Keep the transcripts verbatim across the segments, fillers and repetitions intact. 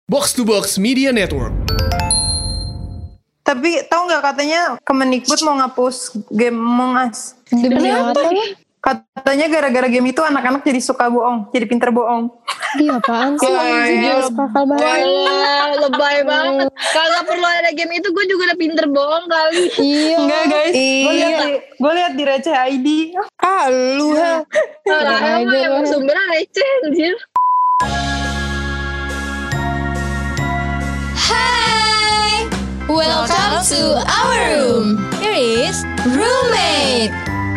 Box to Box Media Network. Tapi tahu nggak katanya Kemendikbud mau ngapus game Among Us. Demi apa? Katanya gara-gara game itu anak-anak jadi suka bohong, jadi pinter bohong. Iya apaan sih? Iya, akal banget. Wah, lebay banget. Kalau perlu ada game itu gue juga udah pinter bohong kali. Iya. Enggak guys, gue lihat di, gue lihat di Receh I D. Ah lu ha. Lah emang emang sumbernya receh anjir. Hai, welcome to our room. Here is roommate.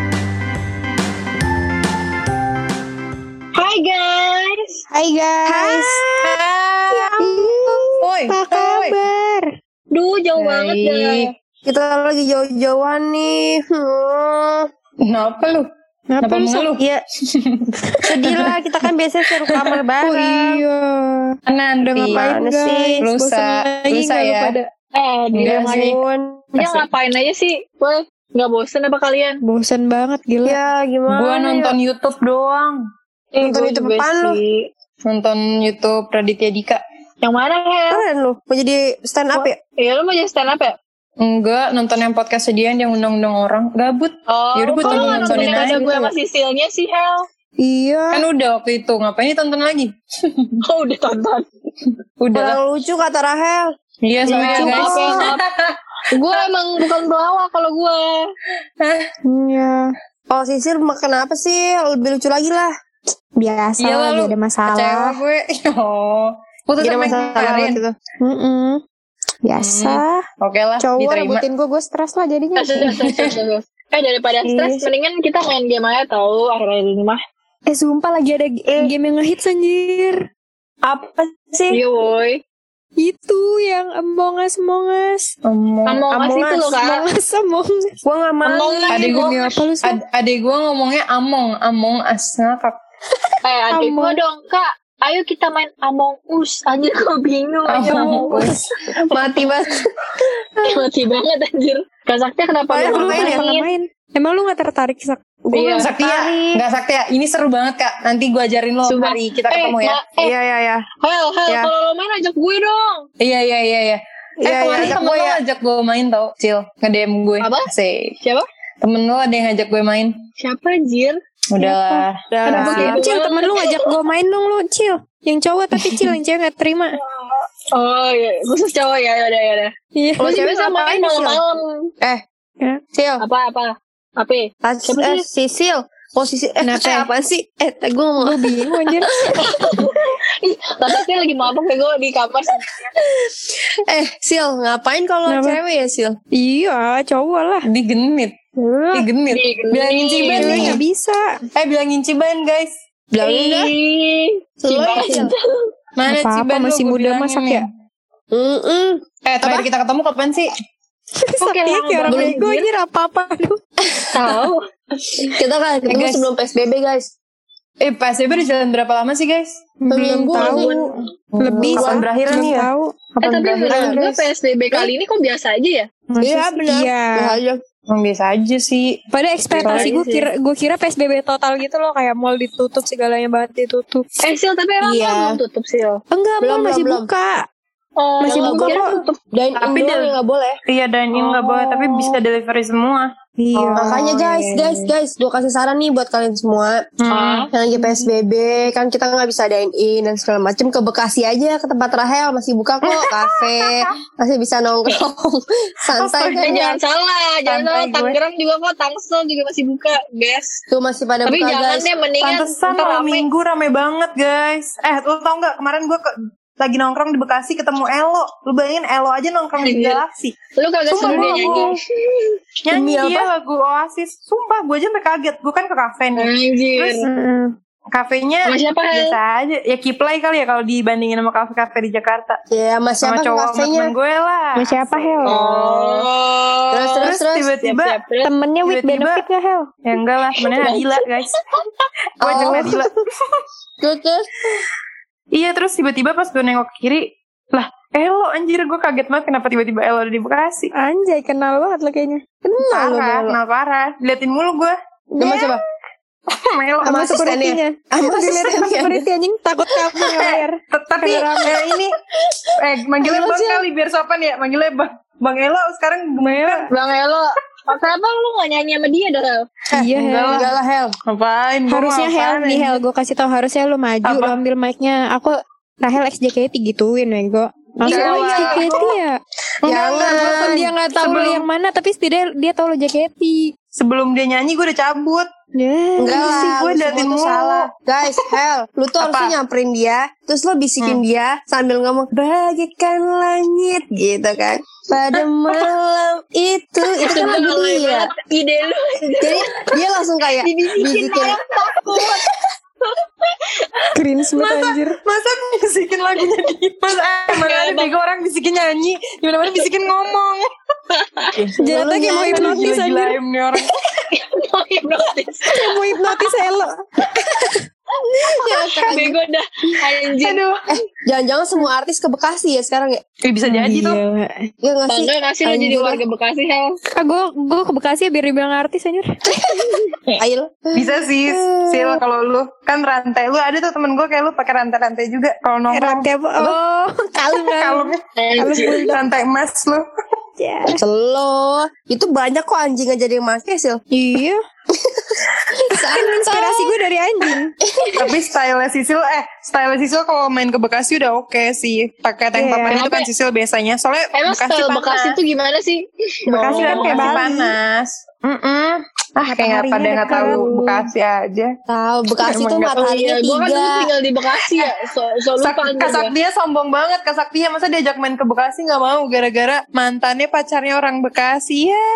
Hai guys. Hai guys. Ya Woi, Apa kabar? Duh jauh banget guys. Kita lagi jauh-jauhan nih. Hmm. Kenapa lu? Kenapa lu? mengeluh? Iya. Sedih lah, kita kan biasanya seru kamar bareng. Oh iya. Nanti Udah ngapain sih? Lusa, lusa ya. Eh diam aja. Ya ngapain aja sih? Wah, nggak bosen apa kalian? Bosen banget gila. Ya gimana? Gua nonton ya? YouTube doang. Eh, Nonton gue YouTube juga apaan lu? sih. Nonton YouTube Raditya Dika. Yang mana Hel? Keren lu, mau jadi stand up ya? Iya lu mau jadi stand up ya? Enggak, nonton yang podcast sediaan yang undang-undang orang. Gabut. Oh, Yaudah gue kok lu tonton nggak nonton nontonin yang aja ada gue gitu. sama Sisilnya sih Hel? Iya. Kan udah waktu itu, ngapain ditonton lagi? Oh udah tonton. Udah lah. Kurang lucu kata Rahel. Iya sama ya Lucu, guys. maaf ya, maaf. Gue emang bukan pelawak kalau gue. Iya. Oh Sisil makan apa sih? Lebih lucu lagi lah. Biasa Iya lah, lagi lu ada masalah. Kecewa gue. Oh. Putus Gak ada sama yang masalah kemarin. gitu. Mm-mm. Biasa. Oke lah, Cowok diterima. rebutin gue, gue stres lah jadinya. Eh daripada stres, mendingan kita main game aja tau akhir-akhir ini mah. Eh sumpah lagi ada g- Eh. game yang ngehits anjir. Apa sih? Iya woi. Itu yang Among Us, Among Us. Ngomong. Among Us itu loh kak. Among Us, Among Us. Gue gak mau. Among Us. Adek gue, Demi apa lu sih? ad, adek gue ngomongnya Among, Among Us ngakak. Eh adik Among. gue dong kak. Ayo kita main Among Us. Anjir gue bingung aja Among Us. Mati banget. Mati banget anjir. Kak Sakti kenapa Padahal lu lu main? gak pernah main. Emang lu gak tertarik Sak? Gue Iya. Sakti ya? Nggak Sakti ya? Ini seru banget kak. Nanti gue ajarin lo Sumpah. hari kita Eh, ketemu ya. Ma- eh, Iya, iya, iya. Hel, Hel, Ya. kalau lo main ajak gue dong. Iya iya iya iya. Eh Iya, kemarin iya, temen gue lo ya. ajak gue main tau, Cil. Nge-D M gue. Apa? Asik. Siapa? Temen lo ada yang ngajak gue main. Siapa anjir? Udah lah. Udah Kenapa lah. gitu Cil, banget? temen lu ngajak gue main dong lu, Cil. Yang cowok tapi Cil, yang cewek gak terima. Oh iya, khusus cowok ya, yaudah yaudah. Iya. Gue juga sama main malam-malam. Eh, Cil. Apa-apa? Apa? Tas, Siapa eh, Sisil. Oh Sisil. Eh, Kenapa? eh apaan sih? Eh, gue ngomong. Gue bingung anjir. Ih, tapi dia lagi mabuk ya gue di kamar. Eh, Sil, ngapain kalau Kenapa? cewek ya, Sil? Iya, cowok lah. Digenit. Digenit. Digenit. Bilangin Ciban Cewek nih. gak bisa. Eh bilangin Ciban guys. Bilangin dah. Ih, Selalu Ciban. ya, Sil. Mana Apa-apa, Ciban lu, masih gua muda, bilangin masak nih. ya? Mm-mm. Eh terakhir kita ketemu kapan sih? Oke, Sakti lama kayak orang banget, bego anjir. anjir apa-apa. Aduh. Tahu. Kita kan ketemu guys. sebelum P S B B, guys. Eh P S B B udah jalan berapa lama sih guys? Belum Minggu, tahu. minggu. Lebih Kapan Sa. berakhir Belum nih ya? tahu. Eh tapi menurut gue P S B B kali ini kok biasa aja ya? Iya, benar. Iya. Iya. Emang biasa aja sih. Pada ekspektasi Biasa gue aja kira gue kira P S B B total gitu loh, kayak mall ditutup, segalanya banget ditutup. Eh Sil, tapi emang Iya. mall belum tutup Sil? Enggak, Belum, mall masih belum, buka. Oh, Masih gue buka kira kok. tutup. Dan Tapi indoor dia- nggak boleh. Iya dine in nggak Oh. boleh tapi bisa delivery semua. Iya. Oh, Makanya guys, iya, guys, iya. guys, gue kasih saran nih buat kalian semua. Ah. Yang lagi P S B B kan kita nggak bisa dine in dan segala macem, ke Bekasi aja, ke tempat Rahel masih buka kok, kafe masih bisa nongkrong santai Eh, kan ya. jangan salah, jangan Santai salah. gue. Tangerang juga kok, Tangsel juga masih buka, guys. Tuh masih pada Tapi buka jangan guys. deh, mendingan Pantesan ntar malam rame. minggu rame banget guys. Eh lu tau gak kemarin gue ke, lagi nongkrong di Bekasi ketemu Elo. Lu bayangin Elo aja nongkrong di Anjir. Galaxy. Lu kagak Sumpah seru gue deh nyanyi. nyanyi Demi dia lagu Oasis. Sumpah gue aja sampai kaget. Gue kan ke kafe nih. Anjir. Terus kafenya Sama siapa, Hel? biasa aja. Ya Kiplay kali ya kalau dibandingin sama kafe-kafe di Jakarta. Ya sama Sama siapa cowok sama kafenya? temen gue lah. Sama siapa Hel? Oh. Terus, terus, terus. tiba-tiba Siap-siap, terus. Temennya with Tiba-tiba- benefit gak Hel? ya enggak lah temennya Nadila guys. Gue ajak Oh. Nadila. Terus, terus. Iya terus tiba-tiba pas gue nengok ke kiri, lah Elo anjir, gue kaget banget kenapa tiba-tiba Elo ada di Bekasi. Anjay, kenal banget lo kayaknya. Kenal lo Parah, Elo. kenal parah. Liatin mulu gue. Coba coba. Melo Sama security-nya. Sama Dilihat security-nya. security anjing takut kabur nggak bayar. T- Tapi eh, ini eh manggilnya Bang kali biar sopan ya. Manggilnya Bang Bang Elo sekarang gimana? Bang Elo, kenapa lu gak nyanyi sama dia dah? Iya enggak Hel. Enggak lah Hel. Ngapain? Gua Harusnya mau Hel apaan, nih anjing? Hel, gue kasih tau harusnya lu maju, Apa? lu ambil mic-nya. Aku Rahel X J K T gituin Wego. Langsung Iya, oh X J K T ya. Jangan. Walaupun dia nggak tahu lu Sebelum- yang mana, tapi setidaknya dia tahu lu J K T. Sebelum dia nyanyi gue udah cabut. Ya. Enggak sih, lah, gue lu liatin semua tuh mulu. salah. Guys, Hel, lu tuh Apa? harusnya nyamperin dia, terus lo bisikin dia sambil ngomong bagaikan langit gitu kan. Pada malam itu, itu kan lagu dia. Ide lu. Jadi dia langsung kayak Dibisikin bisikin. orang takut. Cringe banget anjir. Masa bisikin lagunya dia? Masa eh, mana ada bego orang bisikin nyanyi, gimana-mana bisikin ngomong. Jatuh kayak mau hipnotis anjir. Gila-gilain nih orang. Mau hipnotis. Kayak mau hipnotis Elo. Bego dah. Anjir. Aduh. Eh, jangan-jangan semua artis ke Bekasi ya sekarang ya? Eh, bisa jadi tuh. Ya nggak sih? Bangga gak sih lu jadi Anjir. warga Bekasi, Hel? Ah gue gue ke Bekasi ya biar dibilang artis anjir. Ayo. Bisa sih, Sil kalau lu kan rantai lu ada tuh temen gue kayak lu pakai rantai-rantai juga kalau nongkrong. Rantai apa? Oh, kalung kalung. Kalung Anjir. rantai emas lu. Ya. Selo. Itu banyak kok anjing aja yang make Sil. Iya. Kan inspirasi gue dari anjing. Tapi style Sisil eh style Sisil kalau main ke Bekasi udah oke sih. Pakai tank Iya. papan itu kan Sisil biasanya. Soalnya Emang Bekasi style panas. Bekasi tuh gimana sih? Bekasi kan Oh, kayak Bali. panas. Mm-mm. Ah kayak nggak pada Mataharinya nggak tahu dekat. Bekasi aja. Tahu Bekasi Emang tuh nggak- Oh mataharinya iya, gue kan tiga. dulu tinggal di Bekasi ya. So, so Sak- lupa Kak Saktia sombong banget Kak Saktia masa diajak main ke Bekasi nggak mau gara-gara mantannya pacarnya orang Bekasi ya.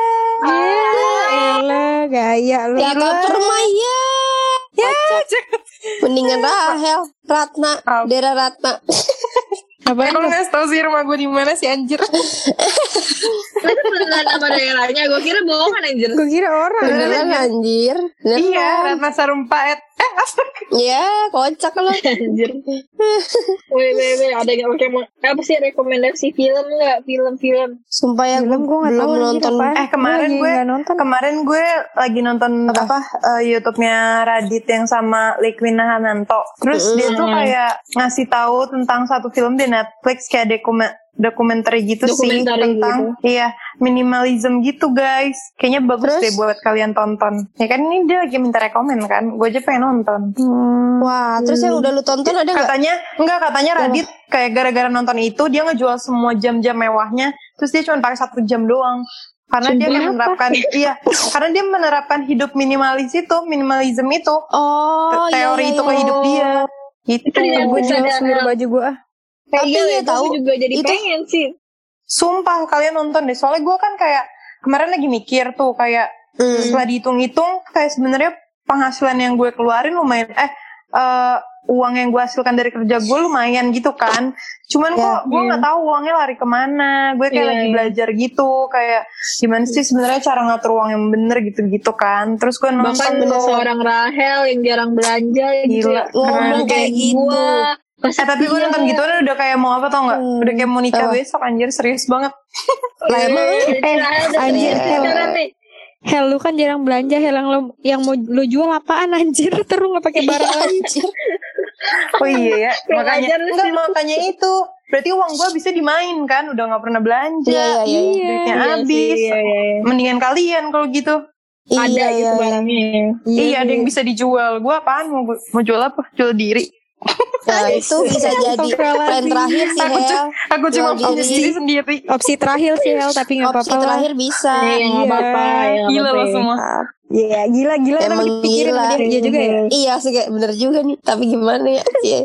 Elah gaya lu. Ya koper mah ya. Ya, Mendingan Rahel, Ratna, Apa? Dera Ratna. Apa kalau nggak tahu sih rumah gue di mana sih anjir. Itu beneran nama daerahnya. Gue kira bohongan anjir. Gue kira orang. Beneran anjir. Beneran. Iya, Ratna Sarumpait. Eh, astaga. Ya, kocak lo. Anjir. Weh, weh, weh. Ada yang oke mau apa sih rekomendasi film nggak? Film-film. Sumpah ya, Film gue nggak belum tahu anjir nonton. apaan. Eh kemarin Gua gue lagi nggak nonton. kemarin gue lagi nonton apa, eh, YouTube-nya Radit yang sama Liquina Hananto. Terus dia tuh kayak ngasih tahu tentang satu film di Netflix kayak dokumen dokumenter gitu sih Dokumenter tentang iya minimalism gitu guys. Kayaknya bagus Terus? deh buat kalian tonton. Ya kan ini dia lagi minta rekomen kan. Gue aja pengen nonton. Wah, terus yang udah lu tonton ada nggak? Katanya enggak katanya Radit kayak gara-gara nonton itu dia ngejual semua jam-jam mewahnya. Terus dia cuma pakai satu jam doang. Karena dia kayak menerapkan iya, karena dia menerapkan hidup minimalis itu, minimalism itu. Oh, teori iya, itu ke iya. hidup dia. Gitu. Iya, Gue jual Ada- seluruh baju gue. Kayak Tapi iya, ya gue tahu, juga jadi itu- pengen sih. Sumpah kalian nonton deh. Soalnya gue kan kayak kemarin lagi mikir tuh kayak Hmm. setelah dihitung-hitung kayak sebenarnya penghasilan yang gue keluarin lumayan eh eh, uang yang gue hasilkan dari kerja gue lumayan gitu kan. Cuman Ya, kok gue nggak tahu uangnya lari kemana. Gue kayak Iya, lagi iya. belajar gitu kayak gimana sih sebenarnya cara ngatur uang yang bener gitu-gitu kan. Terus gue nonton Bahkan tuh. seorang Rahel yang jarang belanja gitu. Gila, ya. ngomong keren. kayak gitu. Gua, Eh tapi gue nonton gitu udah kayak mau apa tau nggak? Hmm. Udah kayak mau nikah Apa? besok anjir serius banget. Lah emang Eh, Rahel udah anjir, serius Hel. sekarang nih. Hel lu kan jarang belanja. Hel yang lu yang mau lu jual apaan anjir? Terus nggak pakai barang lagi. Oh iya ya, Kurang makanya ajar lu enggak sih lu. makanya itu. Berarti uang gue bisa dimain kan, udah nggak pernah belanja. Iya, iya, iya. Duitnya Iya habis. sih, iya, iya. Mendingan kalian kalau gitu. Ada iya, gitu iya. barangnya. Iya, ada yang bisa dijual. Gue apaan mau mau jual apa? Jual diri. Nah, itu bisa jadi plan terakhir sih, Aku, cu- Hel. aku cuma Jual punya diri. diri sendiri. Opsi terakhir sih Hel, tapi nggak Opsi apa-apa lah. terakhir bisa. Iya, nggak apa-apa. ya, nggak Gila apa-apa lo ya. semua. Iya gila gila emang Emang dipikirin gila. sama dia, dia juga ya. Iya sih kayak bener juga nih. Tapi gimana ya? Iya.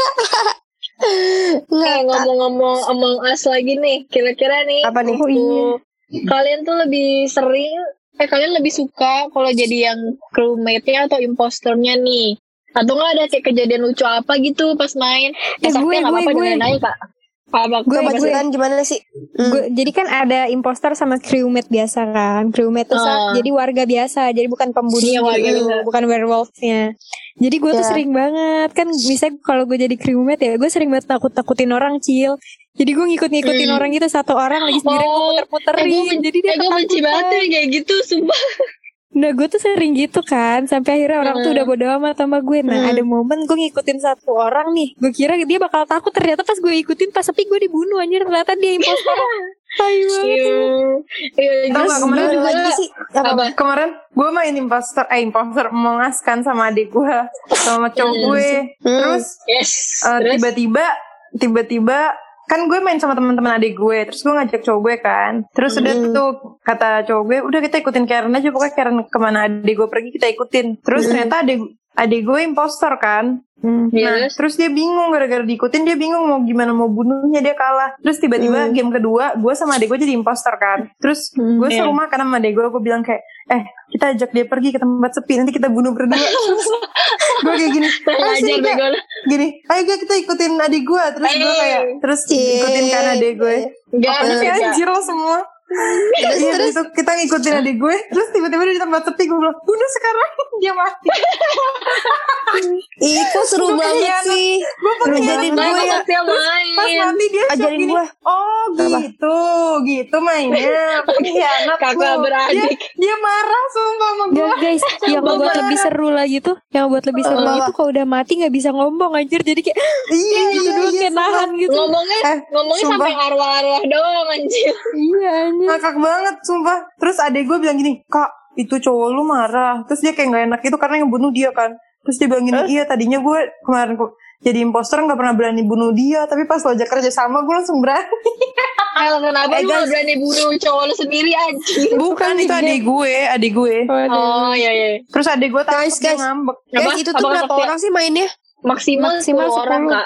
Eh, Nggak, ngomong-ngomong Among Us lagi nih, kira-kira nih Apa nih? Oh, iya. kalian tuh lebih sering eh kalian lebih suka kalau jadi yang crewmate-nya atau imposternya nih, atau nggak ada kayak kejadian lucu apa gitu pas main? Eh, Eh, Sakti gue, nggak gue, apa-apa gue. dengerin aja kak. Apa Gue, coba gue. ceritain gimana sih? Hmm. Gue, jadi kan ada imposter sama crewmate biasa kan. Crewmate tuh sa- Ah. jadi warga biasa, jadi bukan pembunuh, Iya, warga gitu, biasa. bukan werewolf-nya. Jadi gue tuh Ya. sering banget kan, misalnya kalau gue jadi crewmate ya, gue sering banget takut-takutin orang Cil. Jadi gue ngikut-ngikutin Hmm. orang gitu, satu orang lagi sendiri gue Oh, muter-muterin. eh, gue ben- jadi dia eh, gue benci ketakutan. banget tuh yang kayak gitu, sumpah. Nah gue tuh sering gitu kan, sampai akhirnya orang tuh udah bodo amat sama gue. Nah ada momen gue ngikutin satu orang nih, gue kira dia bakal takut, ternyata pas gue ikutin pas sepi gue dibunuh anjir, ternyata dia impostor. Tai banget. Iya, Tau gak kemarin Ada lagi sih apa? apa? Kemarin gue main imposter, eh imposter mengaskan sama adik gue, sama cowok gue. Terus Yes. uh, Terus? tiba-tiba, tiba-tiba kan gue main sama teman-teman adik gue, terus gue ngajak cowok gue kan, terus udah tuh kata cowok gue, udah kita ikutin Karen aja, pokoknya Karen kemana adik gue pergi kita ikutin. Terus ternyata adik adik gue impostor kan. Nah, Yes. terus dia bingung gara-gara diikutin, dia bingung mau gimana mau bunuhnya, dia kalah. Terus tiba-tiba game kedua, gue sama adik gue jadi impostor kan. Terus gue Iya. serumah karena sama adik gue, gue bilang kayak, eh kita ajak dia pergi ke tempat sepi, nanti kita bunuh berdua. Gue kayak gini, ayo Ngajar sini Kak. bego. Gini, ayo Kak, kita ikutin adik gue. Terus gue kayak, terus ikutin kan adik gue. Enggak, Terus kayak enggak. anjir lo semua. Iya, terus kita ngikutin adik gue. Terus tiba-tiba di tempat sepi gue bilang, bunuh sekarang. Dia mati. Ih kok seru Gua banget pengkhianat. sih. Gue pengkhianat Nah, gue ya. Pasti main. Pas mati dia shock Ajarin gini. gua. Oh gitu, gitu mainnya. Pengkhianat Kakak lu. beradik. Dia, dia marah sumpah sama gue. Gak guys, yang buat lebih seru lagi tuh, yang buat lebih seru lagi tuh kalau udah mati nggak bisa ngomong anjir, jadi kayak Iya, gitu iya, doang iya. kayak nahan gitu. Ngomongnya, Eh, ngomongnya sumpah. sampai arwah-arwah doang anjir. Iya anjir. Ngakak banget sumpah. Terus adek gue bilang gini, Kak itu cowok lu marah. Terus dia kayak gak enak gitu karena yang bunuh dia kan. Terus dia bilang gini, iya tadinya gue kemarin kok jadi imposter gak pernah berani bunuh dia, tapi pas lo ajak kerja sama gue langsung berani. Hal kenapa Eh, lu guys. gak berani bunuh cowok lu sendiri anjir? Bukan, itu adik gue, adik gue. Oh iya iya. Terus adik gue takut Guys, dia guys. ngambek. Guys Apa? itu tuh Apa berapa maksudnya? orang sih mainnya? Maksimal, Maksimal sepuluh orang sepuluh. kak.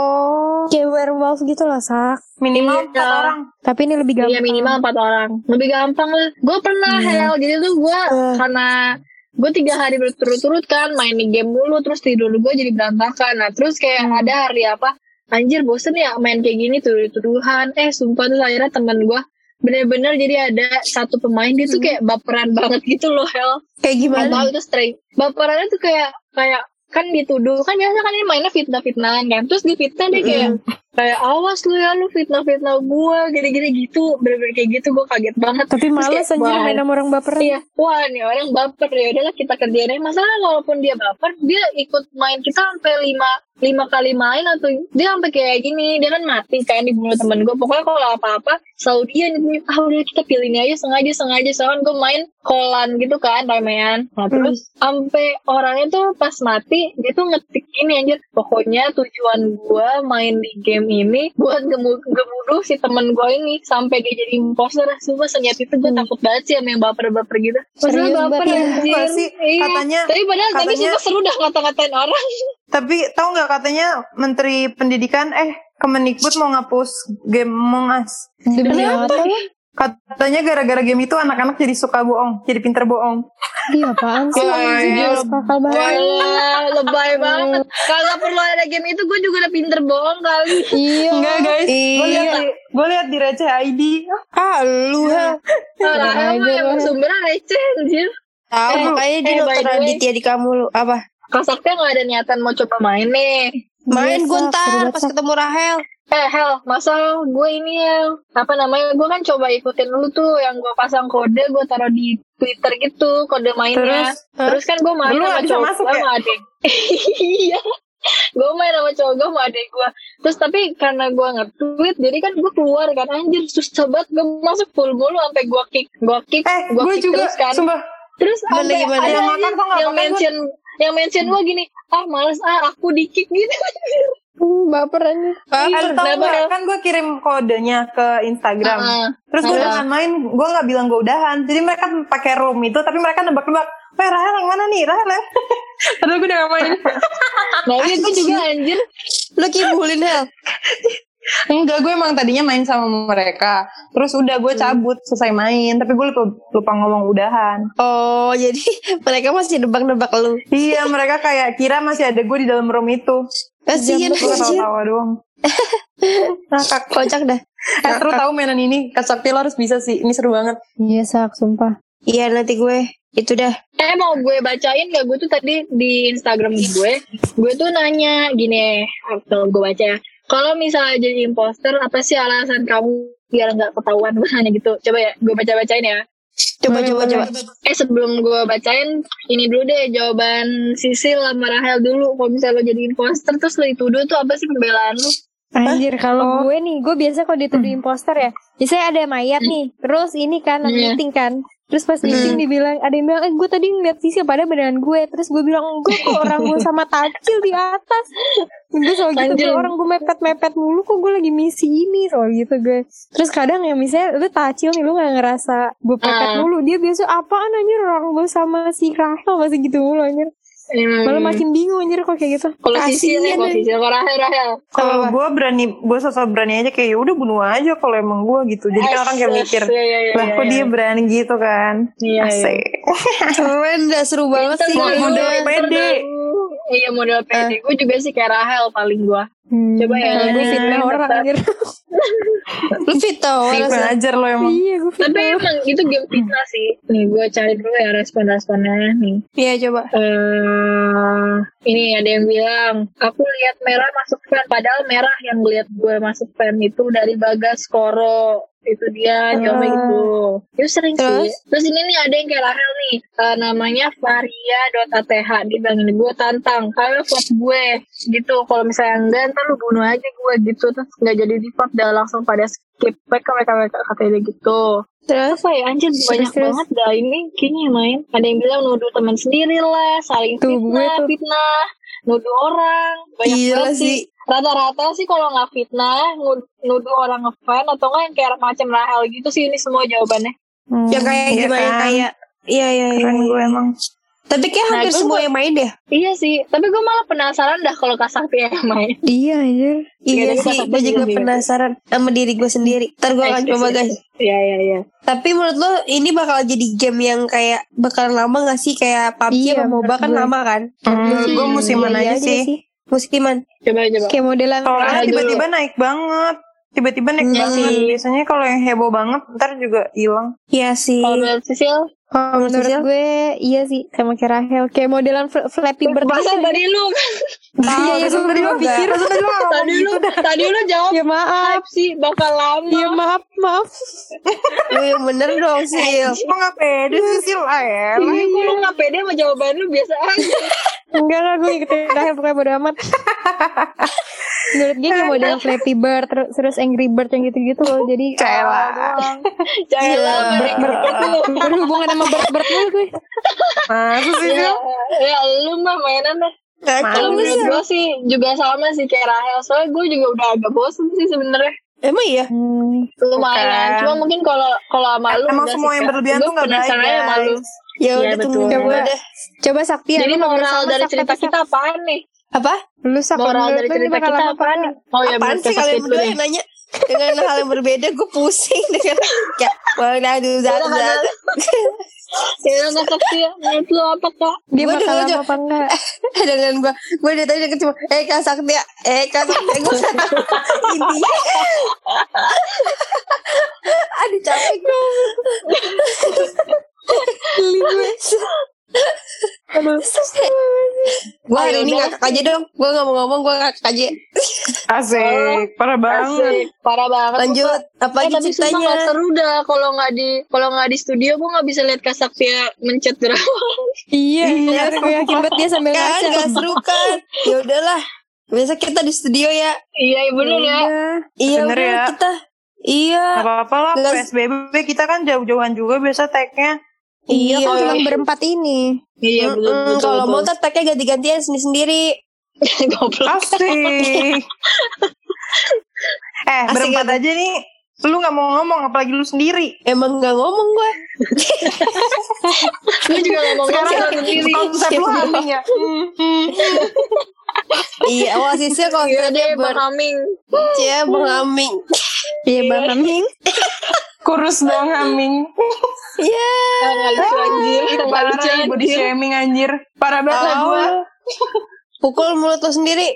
Oh, Kayak werewolf gitu lah Sak. minimal Iya. empat orang. Tapi ini lebih gampang. Iya minimal empat orang. Lebih gampang lah. Gue pernah Hel. Jadi tuh gue karena gue tiga hari berturut-turut kan main di game mulu, terus tidur gue jadi berantakan. Nah terus kayak ada hari apa, anjir bosen ya main kayak gini tuduh-tuduhan. Eh sumpah tuh akhirnya temen gue bener-bener jadi ada satu pemain dia tuh kayak baperan banget gitu loh Hel. Kayak Gak gimana? tahu itu straight. Baperannya tuh kayak kayak kan dituduh kan biasa kan ini mainnya fitnah-fitnahan kan. Terus di fitnah dia kayak kayak awas lu ya lu fitnah-fitnah gue gini-gini gitu, bener-bener kayak gitu. Gue kaget banget. Tapi Terus males kayak, anjir wah, main sama orang baperan. Iya, wah nih orang baper ya udahlah kita kerjain aja. Masalah walaupun dia baper, dia ikut main kita sampai lima lima kali main atau dia sampai kayak gini, dia kan mati kan dibunuh temen gue. Pokoknya kalau apa-apa selalu dia nih, ah udah kita pilih ini aja sengaja sengaja soalnya gue main kolan gitu kan ramean. Nah terus sampai orangnya tuh pas mati dia tuh ngetik ini anjir, pokoknya tujuan gue main di game ini buat gemu- gemuduh si temen gue ini sampai dia jadi imposter. Sumpah senyap itu gue takut banget sih sama yang baper-baper gitu. Masalah Serius, baper Mbak? anjir. Iya sih, Iya. katanya- Tapi padahal tadi katanya- sumpah seru dah ngata-ngatain orang. Tapi tahu nggak katanya Menteri Pendidikan eh Kemendikbud mau ngapus game Among Us. Demi apa lo? Katanya gara-gara game itu anak-anak jadi suka bohong, jadi pinter bohong. Iya apaan sih Wah, anjir. Kakak banget. Wah, lebay banget. Kalau perlu ada game itu gue juga udah pinter bohong kali. Iya. Enggak guys, gue Iya. lihat di gue lihat di Receh I D. Ah lu ha. Nah, aja emang emang lah. sumbernya receh anjir. Tahu Eh, makanya dia eh, by nonton the way. Raditya di kamu lu. Apa? Kak Sakti gak ada niatan mau coba main nih. Main Iya, gue Sak, seru ntar banget, pas Sak. ketemu Rahel. Eh Hel, masa gue ini ya apa namanya, gue kan coba ikutin lu tuh yang gue pasang kode, gue taruh di Twitter gitu kode mainnya. Terus? Terus, kan gue main Lu sama nggak bisa cowok masuk gue ya? sama adek. Iya. Gue main sama cowok gue sama adek gue. Terus tapi karena gue nge-tweet, jadi kan gue keluar kan anjir susah banget gue masuk full mulu sampai gue kick, gue kick, Eh, gue gue kick juga terus kan. sumpah. Terus Gimana, sampai gimana? ada Yang aja makan kok nggak yang makan, mention yang mention gue gini, ah males ah aku di kick gitu. Baper anjir. Eh, tahu Kenapa? nggak? Kan gue kirim kodenya ke Instagram. Ah, Terus gue ah. udahan main, gue nggak bilang gue udahan. Jadi mereka pakai room itu, tapi mereka nebak-nebak. Weh Rahel yang mana nih? Rahel yang padahal gue udah gak main. Nah itu juga anjir. Lu kibulin Hel. Enggak, gue emang tadinya main sama mereka. Terus udah gue cabut selesai main. Tapi gue lupa, lupa ngomong udahan. Oh jadi mereka masih nebak-nebak lu. Iya, mereka kayak kira masih ada gue di dalam room itu. Kasian Gue anjir. ketawa-tawa doang. Ngakak. Kocak dah. Eh, seru tahu mainan ini. Kak Sakti lo harus bisa sih. Ini seru banget. Iya Sak, sumpah. Iya nanti gue itu dah. Eh mau gue bacain gak? Gue tuh tadi di Instagram gue, gue tuh nanya gini, kalau gue baca ya, kalau misalnya jadi imposter, apa sih alasan kamu biar gak ketahuan? Gue nanya gitu, coba ya gue baca-bacain ya. Coba coba coba. Eh sebelum gue bacain ini dulu deh jawaban Sisil sama Rahel dulu. Kalau misalnya lo jadi imposter terus lo dituduh tuh apa sih pembelaan lo? Anjir, kalau gue nih, gue biasa kalau dituduh imposter ya, biasanya ada mayat nih, terus ini kan, ada Iya. meeting kan, terus pas meeting dibilang, ada yang bilang, eh gue tadi ngeliat Sisil, padahal beneran gue, terus gue bilang, gue kok orang gue sama Tacil di atas, gue soal gitu, Anjir. gue orang gue mepet-mepet mulu, kok gue lagi misi ini, soal gitu gue, terus kadang ya misalnya, lu Tacil nih, lu gak ngerasa gue pepet Ah. mulu, dia biasa apaan anjir, orang gue sama si Rahel, masih gitu mulu anjir, Hmm. malah makin bingung anjir kok kayak gitu. Kalau Sisil ya, kalau Sisil, kalau Rahel, Rahel. Kalau gue berani, gue sosok berani aja kayak ya udah bunuh aja kalau emang gue gitu. Jadi kan orang kayak mikir, Iya, iya, iya, lah kok iya. dia berani gitu kan? Iya, iya. Asik. Keren dah, seru banget sih. Model Model pede. Iya model pede. Gue juga sih kayak Rahel paling gue. Hmm. Coba ya. Gue fitnah orang anjir. Lu fit tau Ih, rasanya. ngajar lo emang. Iya gue Tapi fitnah. emang itu game fitnah sih. Nih gue cari dulu ya respon-responnya nih. Iya coba. Eh, ini ada yang bilang, aku lihat merah masuk fan, padahal merah yang lihat gue masuk fan itu dari Bagas Koro. Itu dia coba gitu. Itu sering Terus? sih. Terus ini nih ada yang kayak Rahel nih, eh, namanya varia.ath. Dia bilang ini, gue tantang, kalian vote gue gitu. Kalau misalnya enggak, ntar lu bunuh aja gue gitu. Terus nggak jadi di vote, udah langsung pada skip. Mereka mereka mereka katanya gitu. Terus Apa ya anjir banyak terus. banget dah ini kayaknya yang main. Ada yang bilang nuduh teman sendiri lah, saling Tuh, gue fitnah, tuh. fitnah, nuduh orang. Banyak Gila banget sih. sih. Rata-rata sih kalau nggak fitnah, nud- nuduh orang ngefan atau nggak yang kayak macam Rahel gitu sih ini semua jawabannya. yang kayak Iya gimana kan? kayak iya iya iya. Keren gue emang. Tapi kayak Nah, hampir gue semua mau- yang main deh. Iya sih, tapi gue malah penasaran dah kalau Kak Sakti yang main. Iya anjir. Iya Iya, sih, dia gue juga sendiri. penasaran sama diri gue sendiri. Ntar gue akan coba guys. Iya iya iya. Tapi menurut lo ini bakal jadi game yang kayak bakalan lama gak sih? Kayak P U B G Iya, sama MOBA kan menurut gue. lama kan? Menurut gue musiman Iya aja sih. Musiman. Coba coba. Kayak modelan Soalnya Rahel tiba-tiba naik banget. Tiba-tiba naik Iya banget. sih. Biasanya kalau yang heboh banget, ntar juga hilang. Iya sih. Kalau menurut Sisil, Kalau menurut menurut Sisil? gue iya sih sama kayak Rahel, kayak modelan fl- Flappy Bird. masa gitu. tadi lu Iya, iya, Terus tadi gue lo pikir, terus tadi lo ngomong tadi lu gitu dah. tadi lu jawab Ya maaf. hype sih bakal lama. Ya maaf, maaf. Wih, bener dong Sil. Emang gak pede sih sih lah ya. Iya, kok lu nggak pede sama jawaban lu biasa aja. Enggak lah, gue ngikutin Rahel pokoknya bodo amat. Menurut dia kayak model Flappy Bird, terus, terus Angry Bird yang gitu-gitu loh. Jadi Cela. Jangan Iya, lama ber- berhubungan sama bird-bird mulu gue. Masa sih ya, Sil? ya lu mah mainan deh. Kacau Kalau lu, menurut Sil. gue sih juga sama sih kayak Rahel. Soalnya gue juga udah agak bosen sih sebenarnya. Emang iya? Hmm. Lumayan. Bukan. Cuma mungkin kalau kalau sama lu Emang udah semua sih, yang Kak. berlebihan Gue tuh gak baik, penasaran aja sama lu. guys. Ya Iya, udah betul. tunggu Coba deh. Coba Sakti ya. Jadi lu mau moral sama dari Sak, cerita tapi kita Sak. apaan nih? Apa? Lu Sak, Moral menurut dari lu ini cerita bakal kita lama apaan apa nih? Oh ya Apaan menurut sih Kak kalian Sakti berdua dulu yang deh. nanya dengan hal yang berbeda? Gue pusing dengan kayak waduh zat zat. Ya Kak Sakti ya. Menurut lu apa Kak? Dia Gua bakal dengar lama aja. apa enggak? Dengan gue, gue dari tadi deket cuma eh Kak Sakti ya, eh Kak Sakti gue intinya. Aduh capek gue. Geli gue. Gue hari ini ngakak aja dong. Gue gak mau ngomong, gue ngakak aja. Asik. Parah banget. Asik, parah banget. Lanjut, apa Eh, lagi tapi sumpah ceritanya? gak seru dah kalau nggak di kalau nggak di studio gue nggak bisa lihat Kak Saktia mencet drama. Iya, iya. Gue yakin banget dia sambil Kan ngaca. gak seru kan? Ya udahlah. Biasa kita di studio ya. Iya bener ya. Iya Bener udah ya. kita. Iya. Gak apa-apa lah, Nggak- P S B B kita kan jauh-jauhan juga biasa tag-nya. Iya, kan Iya. cuma berempat ini. Iya betul Mm-mm, betul. Kalau mau ntar tagnya ganti-gantian sendiri-sendiri. Goblok. Asik. eh, Asik berempat ya? aja nih. Lu gak mau ngomong, apalagi lu sendiri. Emang gak ngomong gue. Lu juga ngomong Sekarang ngomong sendiri. konsep lu haming ya. Iya, awal sisir kalau Iya kita deh ber Bang Aming. Cia Bang Aming. Iya, Bang Aming. Kurus dong haming. Iya. Ah, nggak lucu anjir. Nggak lucu Parah, body anjir. shaming anjir. Parah banget lah Oh. gue. Pukul mulut lo sendiri.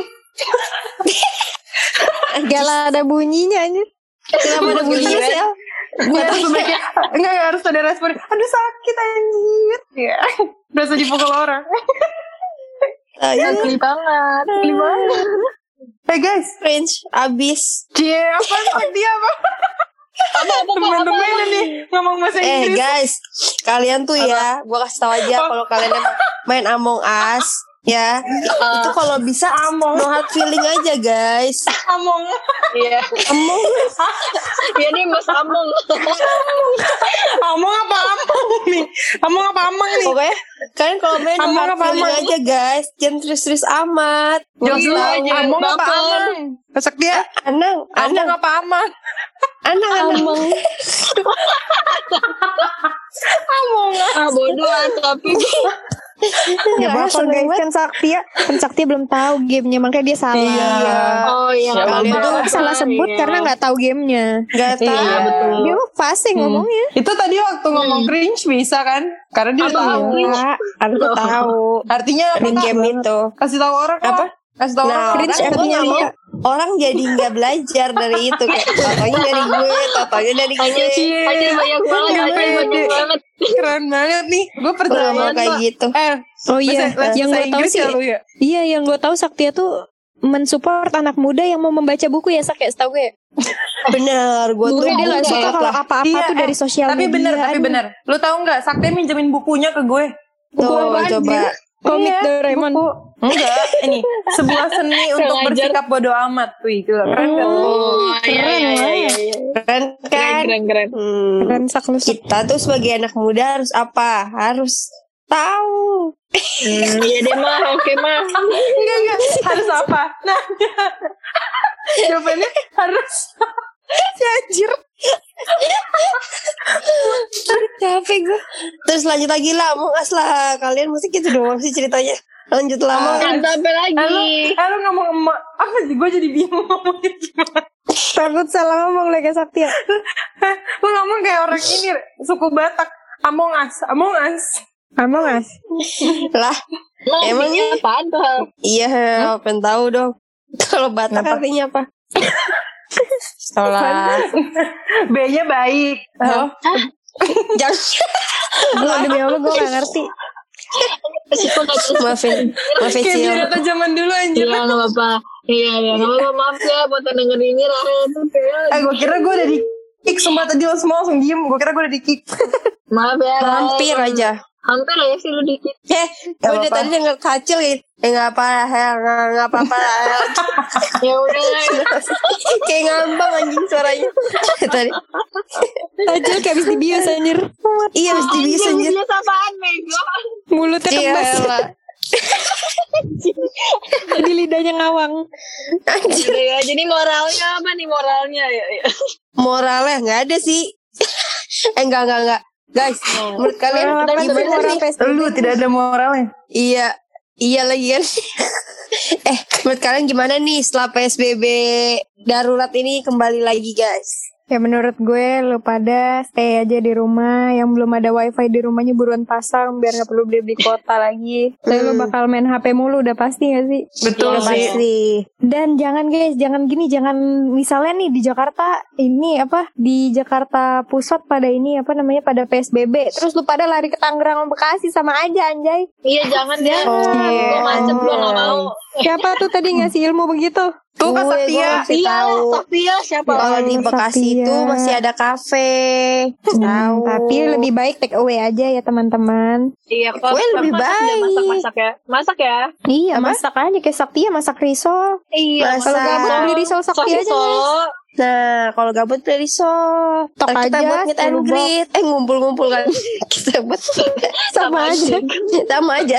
Gak lah ada bunyinya anjir. Kenapa ada bunyinya Sel? Gue harus sebaiknya, enggak harus ada respon. Aduh sakit anjir. Ya. Berasa dipukul orang. Ayo. Geli banget. Geli banget. Eh guys. Cringe abis. Cie, apa sakit dia apa? Temen-temen nih ngomong bahasa Eh Inggris. guys, kalian tuh ya, gue kasih tau aja kalau kalian emang main Among Us, ya itu kalau bisa Among. no hard feeling aja guys. Among. Iya. Among Us. Iya nih Mas Among. Among apa among nih? Among apa amang nih? Pokoknya kalian kalau main no Among hard apa feeling amang? aja guys, jangan serius-serius amat. Jelas Iya, lah. jangan Among apa baper. amang? Besok dia. Anang, Among anang, apa amang? anang, anang. Among. Ah bodoh ah, tapi Ya bapak guys, kan Saktia kan Saktia belum tahu gamenya, makanya dia salah. Iya. oh iya Ya, Kalian Bapak. tuh salah sebut Iya. karena nggak tahu gamenya. Gak Iya tahu. betul. Dia mah fasih ngomongnya. Itu tadi waktu ngomong Hmm. cringe bisa kan? Karena dia Apa? tahu. Enggak, aku tahu. Artinya apa? Di game itu. Kasih tahu orang Apa? Kasih tahu Nah, orang. cringe kan artinya gua nggak apa? mau orang jadi nggak belajar dari itu, kayak totonya dari gue, totonya dari gue. Aja banyak banget, Iya, aja iya. banyak banget. Keren banget nih. Gue Gue percaya gak mau kayak tuh. gitu. Eh, Oh iya, bahasa- yang bahasa gue tahu Inggris sih, ya lu ya? iya yang gue tahu Saktia tuh mensupport anak muda yang mau membaca buku ya Sak, ya setahu gue. Bener, gue tuh Gue dia nggak bukan suka kalau lah. apa-apa Iya, tuh eh, dari sosial Tapi media. bener, tapi Aduh. bener. Lu tahu nggak? Sakti minjemin bukunya ke gue. Tuh, apaan coba. sih? Komik Iya, Doraemon. buku. Enggak, ini sebuah seni untuk Sengaja. bersikap bodoh amat. Wih, gila, keren kan? Oh, iya, Keren iya, lah. iya, iya. Keren Keren, kan? keren, keren. Hmm. Keren Sak lu. Sak. Kita tuh sebagai anak muda harus apa? Harus tahu. Hmm, iya deh mah, oke mah. Enggak, enggak. Harus apa? Nah, jawabannya harus si anjir. Capek gue. Terus lanjut lagi lah, Among Us lah. Kalian mesti gitu doang sih ceritanya. Lanjut lah, Among Us. Kan sampai lagi. Eh, lu, eh, lu ngomong emak. Apa sih? Gue jadi bingung ngomongnya gimana. Takut salah ngomong lagi Saktia. Lu ngomong kayak orang ini, suku Batak. Among Us, Among Us. Among Us. Lah, Nah, Emang artinya nih? apaan tuh hal? iya, pengen tahu dong. Kalau Batak Kenapa? artinya apa? Setelah B-nya baik. Oh. jangan Gue demi Allah gue gak ngerti. Situ gak terus. maafin, maafin Kayak Cil. pirata zaman dulu anjir. Iya gak apa-apa. Iya, iya. Gak apa-apa, maaf ya buat yang denger ini Rahel tuh kayak. Eh, gue kira gue udah di kick. Sumpah tadi lo semua langsung diem. Gue kira gue udah di kick. Maaf ya Rahel. Hampir aja. Hampir ya sih lu dikit. Eh, gue udah apa-apa. tadi denger kacil gitu. Eh, gak apa, Hel, gak apa-apa. Hel. Ya udah lah. Kayak ngambang anjing suaranya. Tadi. Tajil kayak abis dibius anjir. Iya, harus dibius anjir. Biasa apaan Mego? Mulutnya Iya, kembas. lah. Jadi lidahnya ngawang. Anjir. Udah ya, jadi moralnya apa nih moralnya ya? ya. Moralnya gak ada sih. Eh, enggak, enggak, enggak. Guys, menurut kalian Moral apa sih? gimana Moral sih? P S B B? Lu tidak ada moralnya. Iya, iya lagi kan. Eh, menurut kalian gimana nih setelah P S B B darurat ini kembali lagi guys? Ya menurut gue lu pada stay aja di rumah. Yang belum ada wifi di rumahnya buruan pasang biar gak perlu beli-beli kuota lagi. Tapi lu Hmm. bakal main H P mulu, udah pasti gak sih? Betul Udah sih. pasti. Dan jangan guys, jangan gini, jangan misalnya nih di Jakarta ini apa di Jakarta Pusat pada ini apa namanya pada P S B B, terus lu pada lari ke Tangerang Bekasi sama aja anjay. Iya jangan ya. Oh, Gue macet gue gak mau. Siapa tuh tadi ngasih ilmu begitu? Tuh Kak Gue, gue Saktia. masih Iya, tahu. Sofia siapa? Kalau di Oh, Bekasi Saktia. itu masih ada kafe. Tahu. Tapi lebih baik take away aja ya teman-teman. Iya kok. Gue lebih masak ya, baik. Masak masak ya. Masak ya. Iya, Apa? masak aja kayak Saktia masak risol. Iya. Masak. Kalau gabut beli risol Saktia Sosis aja. Guys. Solo. Nah, kalau gabut beli risol. Tok Ntar kita aja, buat meet and sepuluh box. greet. Eh, ngumpul-ngumpul kan. Kita buat Sama aja. sama aja.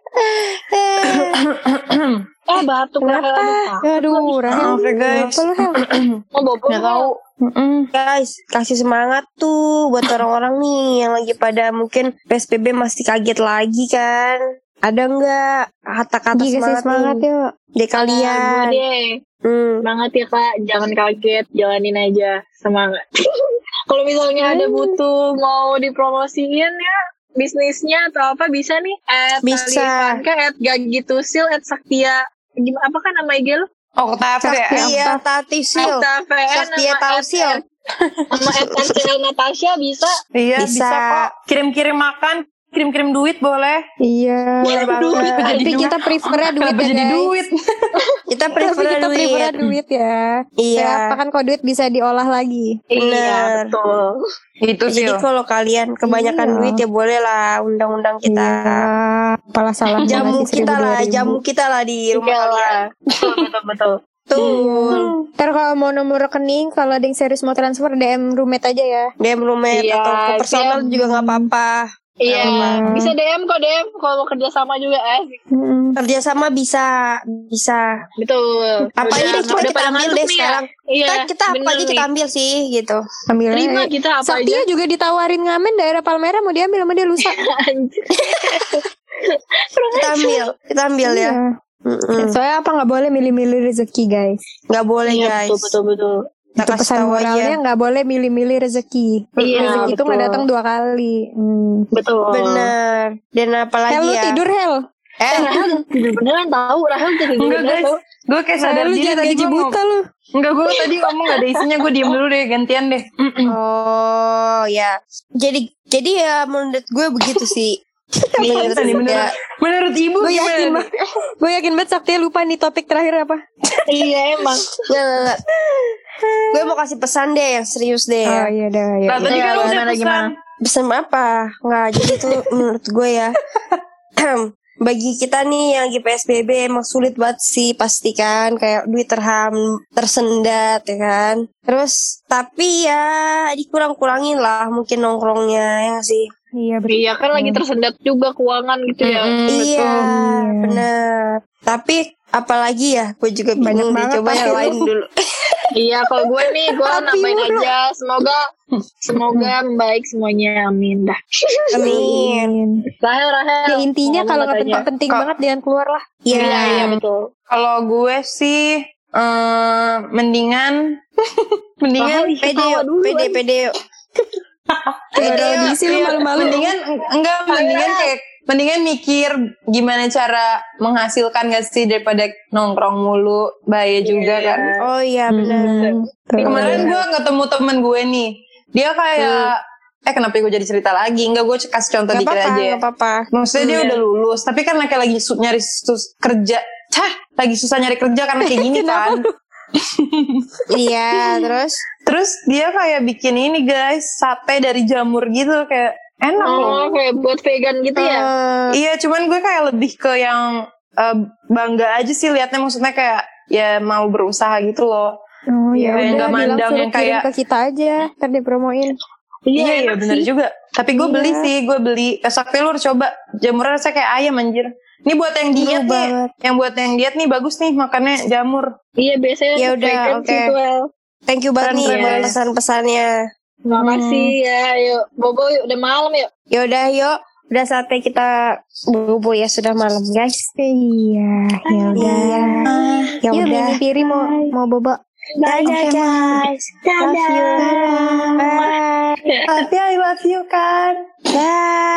Eh batuk lah. Kenapa? Aduh, Rahel. Maaf ya, guys. Kenapa lu, Hel? Mau bobo Nggak tahu. Mm-mm. Guys, kasih semangat tuh buat orang-orang nih yang lagi pada mungkin P S B B masih kaget lagi kan. Ada nggak kata-kata Iya, kasih semangat, semangat nih yuk. dari kalian? Gue deh. Hmm. Semangat ya kak. Jangan kaget. Jalanin aja. Semangat. Kalau misalnya ada butuh mau dipromosiin ya bisnisnya atau apa bisa nih at Bisa. Alifanka, at Gagitusil, at Saktia gimana apa kan nama I G lo? Oktav ya. Iya, Tati Sil. Saktia V N Saktia Tausil. sama at N C L Natasha bisa. Iya, bisa. Bisa. kok. Kirim-kirim makan. kirim-kirim duit boleh. Iya. Boleh banget. Tapi kita prefer duit Kenapa ya jadi guys. duit? Kita Tapi prefer kita duit. prefer duit ya. Iya. Kayak apa kan kalau duit bisa diolah lagi. Iya Bener. betul. Itu sih. Jadi kalau kalian kebanyakan Iya. duit ya boleh lah undang-undang kita. Iya. Apalah salah Jamu ngasih kita seribu, lah, dua ribu. jamu kita lah di rumah Iya kalian. lah. Betul betul betul. Tuh. Ntar kalau mau nomor rekening, kalau ada yang serius mau transfer D M roommate aja ya. D M roommate Iya, atau ke personal siap. juga nggak apa-apa. Iya, Hmm. bisa D M kok D M kalau mau kerja sama juga asik. Mm-mm. Kerjasama bisa, bisa. Betul. Apa Udah- ini coba udah kita pada ambil ngantuk deh nih ya? sekarang. Iya. Kan kita apa bener aja kita nih. ambil sih gitu. Ambil aja. Terima kita apa Saktia aja. juga ditawarin ngamen daerah Palmera mau diambil sama dia lusa. Anjir. Kita ambil, kita ambil ya. Iya. Mm-mm. Soalnya apa nggak boleh milih-milih rezeki guys. Nggak boleh Iya, guys. betul betul betul. Kita Itu kasih pesan tahu moralnya aja. nggak boleh milih-milih rezeki. Iya, Rezeki itu nggak betul. datang dua kali. Hmm. Betul. Bener. Dan apalagi Hel lu ya. tidur Hel. Eh, Rahel tidur beneran tahu Rahel tidur Enggak beneran guys, tahu. gue kayak sadar Hel lu diri jangan tadi gaji gue ngomong. buta lu. Enggak, gue tadi ngomong gak ada isinya, gue diem dulu deh, gantian deh. oh ya. Jadi jadi ya menurut gue begitu sih. Iya, tadi menurut, menurut ibu Gue gimana yakin nih? banget. Gue yakin banget Saktia lupa nih topik terakhir apa. Iya emang. Nggak, nggak, nggak. Gue mau kasih pesan deh yang serius deh. Oh iya dah ya. Nah, tadi Iya, kan lu udah gimana, pesan. gimana? Pesan apa? Nggak, jadi tuh menurut gue ya. Bagi kita nih yang lagi P S B B emang sulit banget sih pastikan kayak duit terham tersendat ya kan. Terus tapi ya dikurang-kurangin lah mungkin nongkrongnya ya nggak sih. Iya betul. Iya kan lagi tersendat juga keuangan gitu ya. Iya, bener. Tapi apalagi ya, gue juga Banyak bingung deh. banget Coba yang tapi lain lu. dulu. Iya kalau gue nih gue Tapi nambahin mulu. aja. Semoga semoga membaik semuanya. Amin dah. Amin. Rahel Rahel. Ya intinya ngomong kalau nggak katanya. penting-penting Kok- banget jangan keluar lah. Iya. Iya iya betul. Kalau gue sih eh, mendingan mendingan Rahel Pede ketawa yuk, dulu, pede, anjing. pede yuk. Ada audisi lu iya, malu-malu. mendingan enggak mendingan kayak mendingan mikir gimana cara menghasilkan gak sih daripada nongkrong mulu, bahaya juga kan. Oh iya, bener. Hmm, tuh. Kemarin gue ketemu temen gue nih, dia kayak eh kenapa gue jadi cerita lagi? Enggak, gue kasih contoh Gak dikit apa-apa, aja. gak apa-apa. Maksudnya dia Iya. udah lulus, tapi kan kayak lagi su- nyari sus- kerja. Cah, lagi susah nyari kerja karena kayak gini kan. Iya, terus? Terus dia kayak bikin ini guys, sate dari jamur gitu, kayak enak loh. Oh kayak buat vegan gitu ya. Eh, Iya, cuman gue kayak lebih ke yang eh, bangga aja sih liatnya, maksudnya kayak ya mau berusaha gitu loh. Oh ya Kayak udah nggak bilang mandang suruh yang kirim kayak- ke kita aja, ntar dipromoin. Iya, iya enak bener sih. juga. Tapi gue Iya. beli sih, gue beli. Besoknya lu harus coba. Jamurnya rasanya kayak ayam anjir. Ini buat yang diet nih, banget. yang buat yang diet nih bagus nih makannya jamur. Iya biasanya Ya udah, vegan oke. sih tuh, El. Thank you banget nih Keren, buat guys. pesan-pesannya. Makasih ya. Yuk bobo yuk udah malam yuk. Yaudah, yuk. Udah saatnya kita bobo ya, sudah malam guys. Iya, ya udah. Iya. Ya Yuk udah. Mimi Piri mau mau bobo. Dadah guys. Love you. Bye. Tapi I love you kan. Bye.